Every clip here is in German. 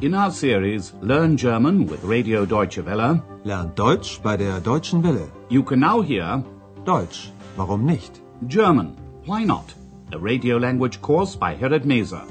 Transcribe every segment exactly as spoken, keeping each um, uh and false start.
In our series Learn German with Radio Deutsche Welle, Lernt Deutsch bei der Deutschen Welle. you can now hear Deutsch, warum nicht? German, Why Not? A radio language course by Herrad Meese.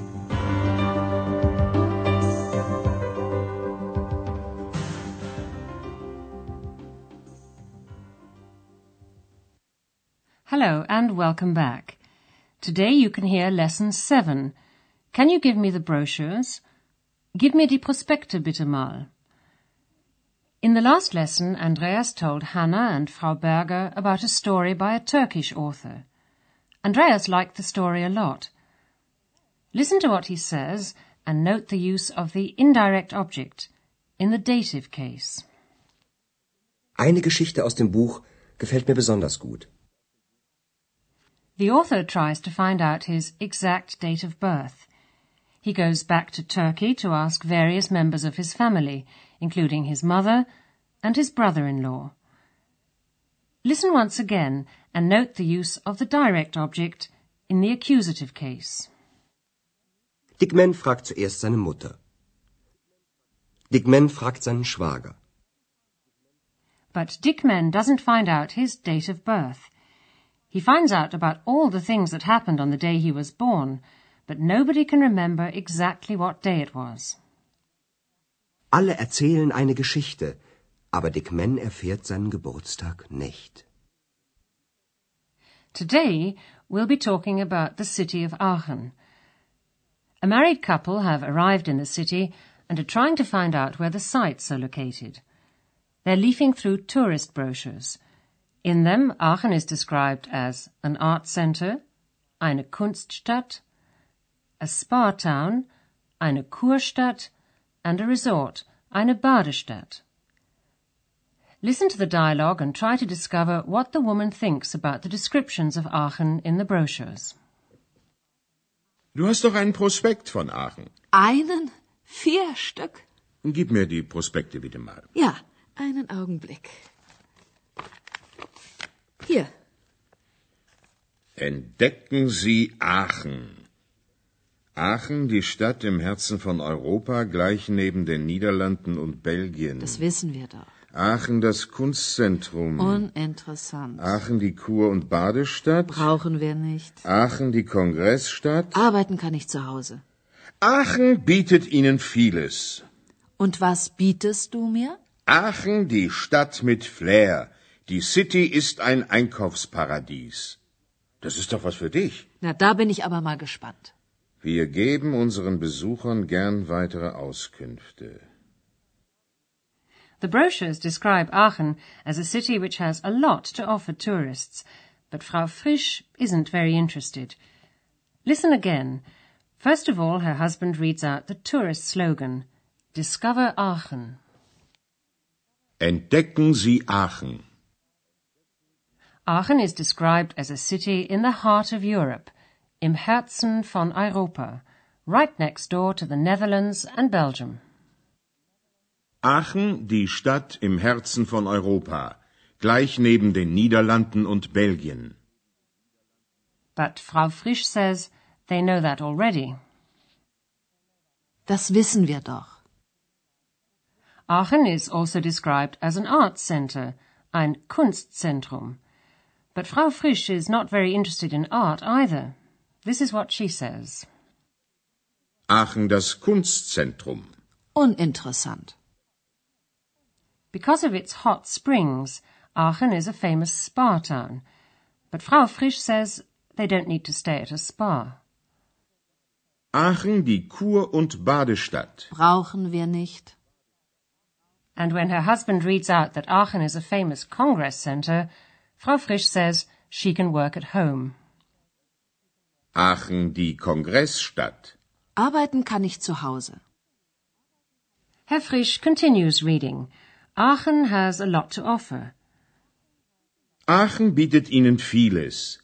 Hello and welcome back. Today you can hear Lesson seven. Can you give me the brochures? Gib mir die Prospekte bitte mal. In the last lesson, Andreas told Hannah and Frau Berger about a story by a Turkish author. Andreas liked the story a lot. Listen to what he says and note the use of the indirect object in the dative case. Eine Geschichte aus dem Buch gefällt mir besonders gut. The author tries to find out his exact date of birth. He goes back to Turkey to ask various members of his family, including his mother and his brother-in-law. Listen once again and note the use of the direct object in the accusative case. Dick Man fragt zuerst seine Mutter. Dick Man fragt seinen Schwager. But Dick Man doesn't find out his date of birth. He finds out about all the things that happened on the day he was born, but nobody can remember exactly what day it was. Alle erzählen eine Geschichte, aber Dick Man erfährt seinen Geburtstag nicht. Today we'll be talking about the city of Aachen. A married couple have arrived in the city and are trying to find out where the sites are located. They're leafing through tourist brochures. In them, Aachen is described as an art center, eine Kunststadt, a spa town, eine Kurstadt, and a resort, eine Badestadt. Listen to the dialogue and try to discover what the woman thinks about the descriptions of Aachen in the brochures. Du hast doch einen Prospekt von Aachen. Einen? Vier Stück? Gib mir die Prospekte bitte mal. Ja, einen Augenblick. Hier. Entdecken Sie Aachen. Aachen, die Stadt im Herzen von Europa, gleich neben den Niederlanden und Belgien. Das wissen wir doch. Aachen, das Kunstzentrum. Uninteressant. Aachen, die Kur- und Badestadt. Brauchen wir nicht. Aachen, die Kongressstadt. Arbeiten kann ich zu Hause. Aachen bietet Ihnen vieles. Und was bietest du mir? Aachen, die Stadt mit Flair. Die City ist ein Einkaufsparadies. Das ist doch was für dich. Na, da bin ich aber mal gespannt. Wir geben unseren Besuchern gern weitere Auskünfte. The brochures describe Aachen as a city which has a lot to offer tourists, but Frau Frisch isn't very interested. Listen again. First of all, her husband reads out the tourist slogan, Discover Aachen. Entdecken Sie Aachen. Aachen is described as a city in the heart of Europe, im Herzen von Europa, right next door to the Netherlands and Belgium. Aachen, die Stadt im Herzen von Europa, gleich neben den Niederlanden und Belgien. But Frau Frisch says they know that already. Das wissen wir doch. Aachen is also described as an art center, ein Kunstzentrum. But Frau Frisch is not very interested in art either. This is what she says. Aachen, das Kunstzentrum. Uninteressant. Because of its hot springs, Aachen is a famous spa town. But Frau Frisch says they don't need to stay at a spa. Aachen, die Kur- und Badestadt. Brauchen wir nicht. And when her husband reads out that Aachen is a famous congress center, Frau Frisch says she can work at home. Aachen, die Kongressstadt. Arbeiten kann ich zu Hause. Herr Frisch continues reading. Aachen has a lot to offer. Aachen bietet Ihnen vieles.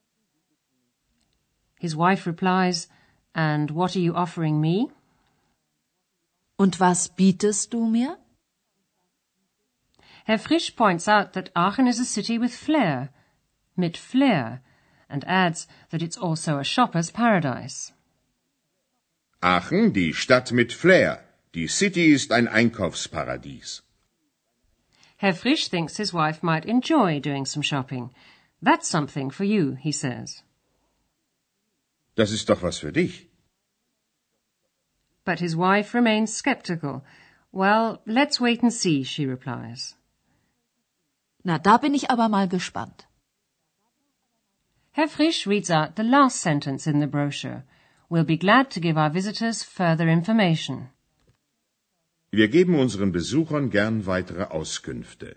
His wife replies, And what are you offering me? Und was bietest du mir? Herr Frisch points out that Aachen is a city with flair, mit Flair, and adds that it's also a shopper's paradise. Aachen, die Stadt mit Flair, Die City ist ein Einkaufsparadies. Herr Frisch thinks his wife might enjoy doing some shopping. That's something for you, he says. Das ist doch was für dich. But his wife remains sceptical. Well, let's wait and see, she replies. Na, da bin ich aber mal gespannt. Herr Frisch reads out the last sentence in the brochure. We'll be glad to give our visitors further information. Wir geben unseren Besuchern gern weitere Auskünfte.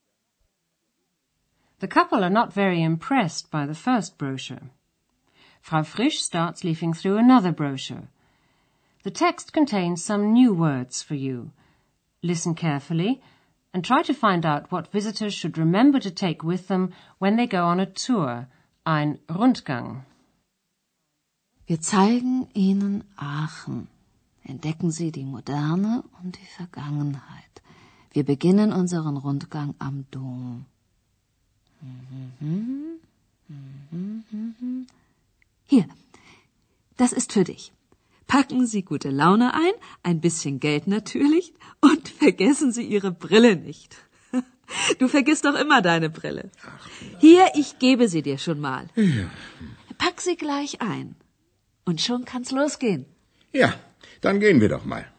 The couple are not very impressed by the first brochure. Frau Frisch starts leafing through another brochure. The text contains some new words for you. Listen carefully and try to find out what visitors should remember to take with them when they go on a tour, ein Rundgang. Wir zeigen Ihnen Aachen. Entdecken Sie die Moderne und die Vergangenheit. Wir beginnen unseren Rundgang am Dom. Hier, das ist für dich. Packen Sie gute Laune ein, ein bisschen Geld natürlich und vergessen Sie Ihre Brille nicht. Du vergisst doch immer deine Brille. Hier, ich gebe sie dir schon mal. Ja. Pack sie gleich ein. Und schon kann's losgehen. Ja, dann gehen wir doch mal.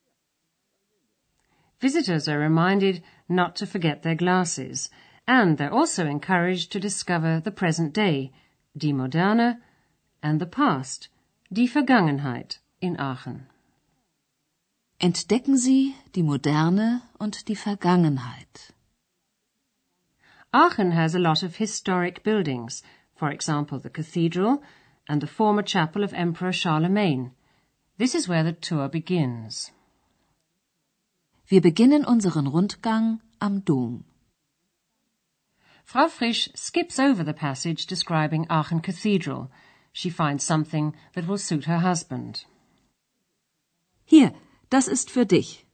Visitors are reminded not to forget their glasses, and they're also encouraged to discover the present day, die Moderne, and the past, die Vergangenheit, in Aachen. Entdecken Sie die Moderne und die Vergangenheit. Aachen has a lot of historic buildings, for example the cathedral and the former chapel of Emperor Charlemagne. This is where the tour begins. Wir beginnen unseren Rundgang am Dom. Frau Frisch skips over the passage describing Aachen Cathedral. She finds something that will suit her husband. Hier, das ist für dich.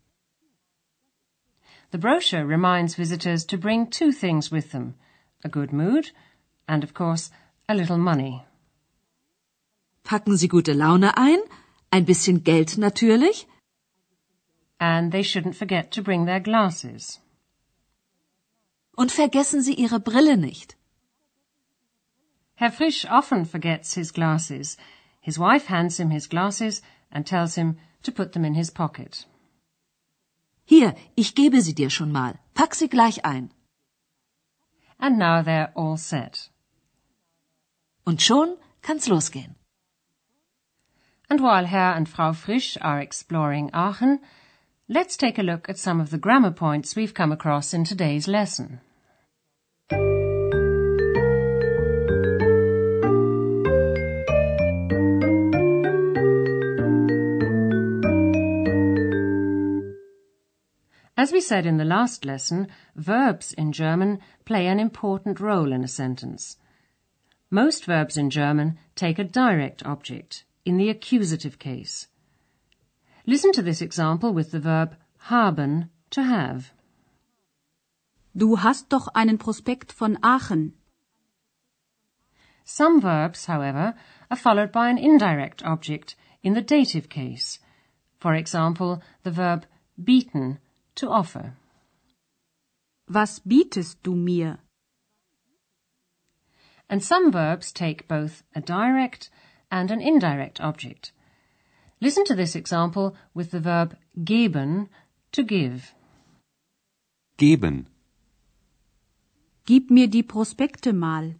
The brochure reminds visitors to bring two things with them, a good mood and, of course, a little money. Packen Sie gute Laune ein, ein bisschen Geld natürlich. And they shouldn't forget to bring their glasses. Und vergessen Sie Ihre Brille nicht. Herr Frisch often forgets his glasses. His wife hands him his glasses and tells him to put them in his pocket. Hier, ich gebe sie dir schon mal. Pack sie gleich ein. And now they're all set. Und schon kann's losgehen. And while Herr and Frau Frisch are exploring Aachen, let's take a look at some of the grammar points we've come across in today's lesson. As we said in the last lesson, verbs in German play an important role in a sentence. Most verbs in German take a direct object, in the accusative case. Listen to this example with the verb haben, to have. Du hast doch einen Prospekt von Aachen. Some verbs, however, are followed by an indirect object, in the dative case. For example, the verb bieten, to offer. Was bietest du mir? And some verbs take both a direct and an indirect object. Listen to this example with the verb geben, to give. Geben. Gib mir die Prospekte mal.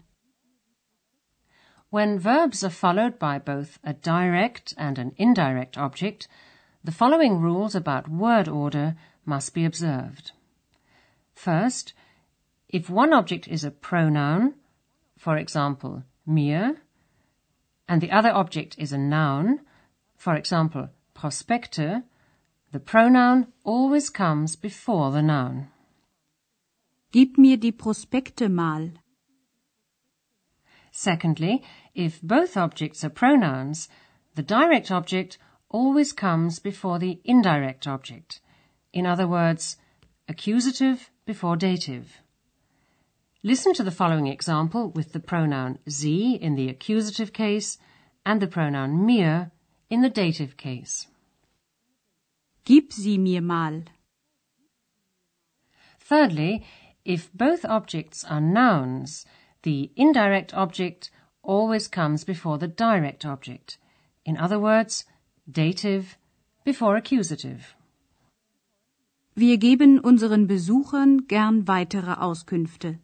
When verbs are followed by both a direct and an indirect object, the following rules about word order must be observed. First, if one object is a pronoun, for example, mir, and the other object is a noun, for example, Prospekte, the pronoun always comes before the noun. Gib mir die Prospekte mal. Secondly, if both objects are pronouns, the direct object always comes before the indirect object. In other words, accusative before dative. Listen to the following example with the pronoun sie in the accusative case and the pronoun mir in the dative case. Gib sie mir mal. Thirdly, if both objects are nouns, the indirect object always comes before the direct object. In other words, dative before accusative. Wir geben unseren Besuchern gern weitere Auskünfte.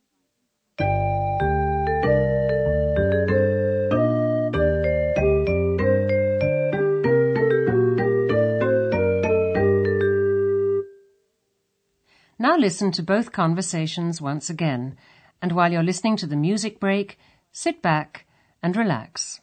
Now listen to both conversations once again, and while you're listening to the music break, sit back and relax.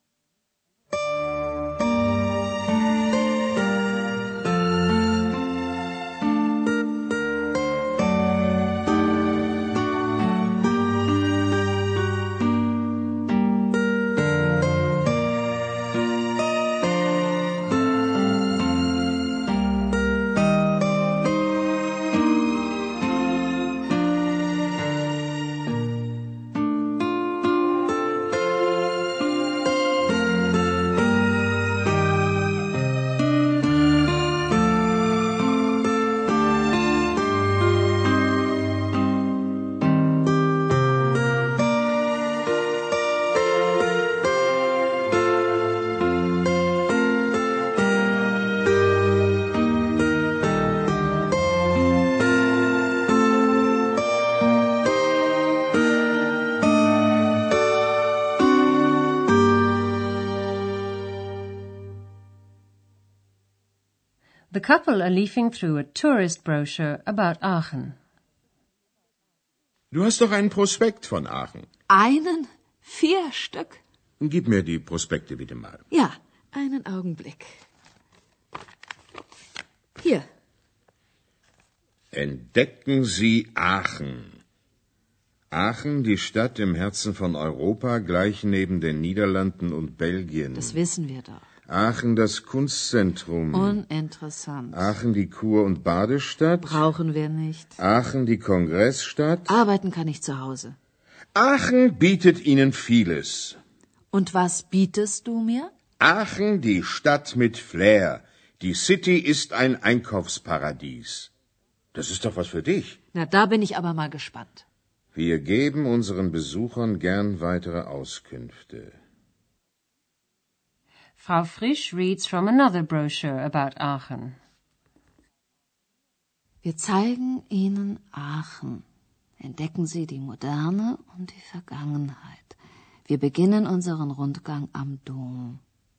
The couple are leafing through a tourist brochure about Aachen. Du hast doch einen Prospekt von Aachen. Einen? Vier Stück? Gib mir die Prospekte bitte mal. Ja, einen Augenblick. Hier. Entdecken Sie Aachen. Aachen, die Stadt im Herzen von Europa, gleich neben den Niederlanden und Belgien. Das wissen wir doch. Aachen, das Kunstzentrum. Uninteressant. Aachen, die Kur- und Badestadt. Brauchen wir nicht. Aachen, die Kongressstadt. Arbeiten kann ich zu Hause. Aachen bietet Ihnen vieles. Und was bietest du mir? Aachen, die Stadt mit Flair. Die City ist ein Einkaufsparadies. Das ist doch was für dich. Na, da bin ich aber mal gespannt. Wir geben unseren Besuchern gern weitere Auskünfte. Frau Frisch reads from another brochure about Aachen. Wir zeigen Ihnen Aachen. Entdecken Sie die Moderne und die Vergangenheit. Wir beginnen unseren Rundgang am Dom.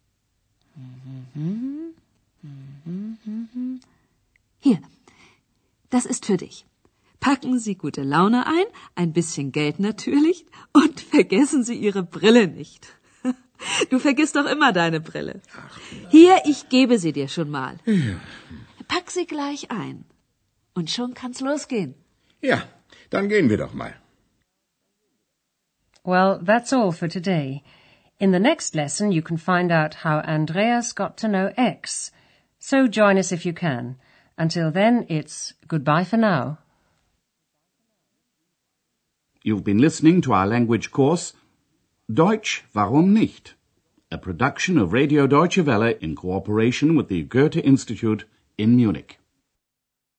Hier, das ist für dich. Packen Sie gute Laune ein, ein bisschen Geld natürlich, und vergessen Sie Ihre Brille nicht. Du vergisst doch immer deine Brille. Hier, ich gebe sie dir schon mal. Pack sie gleich ein. Und schon kann's losgehen. Ja, dann gehen wir doch mal. Well, that's all for today. In the next lesson you can find out how Andreas got to know X. So join us if you can. Until then, it's goodbye for now. You've been listening to our language course, Deutsch, warum nicht? A production of Radio Deutsche Welle in cooperation with the Goethe Institute in Munich.